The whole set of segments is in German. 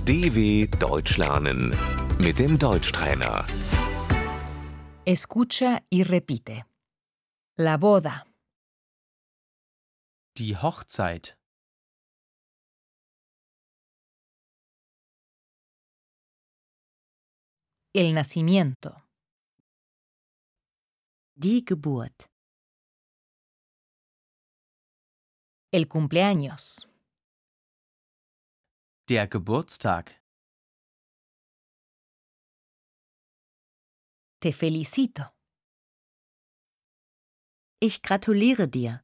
DW Deutsch lernen mit dem Deutschtrainer. Escucha y repite. La boda, Die Hochzeit, el nacimiento, Die Geburt. el cumpleaños, der Geburtstag, te felicito, Ich gratuliere dir.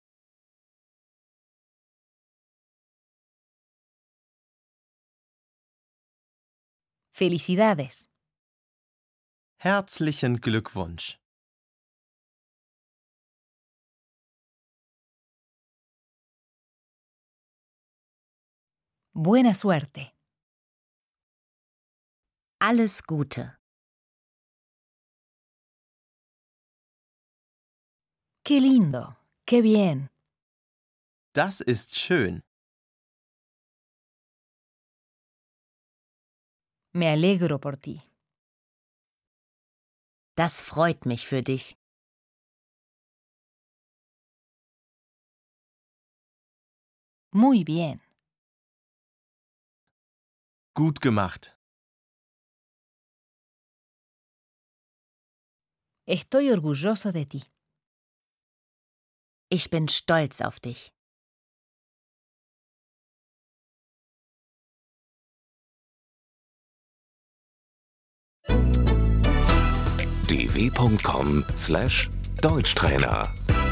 felicidades, herzlichen Glückwunsch. buena suerte, Alles Gute. qué lindo, qué bien, Das ist schön. me alegro por ti, Das freut mich für dich. muy bien, Gut gemacht. estoy orgulloso de ti. Ich bin stolz auf dich. dw.com/Deutschtrainer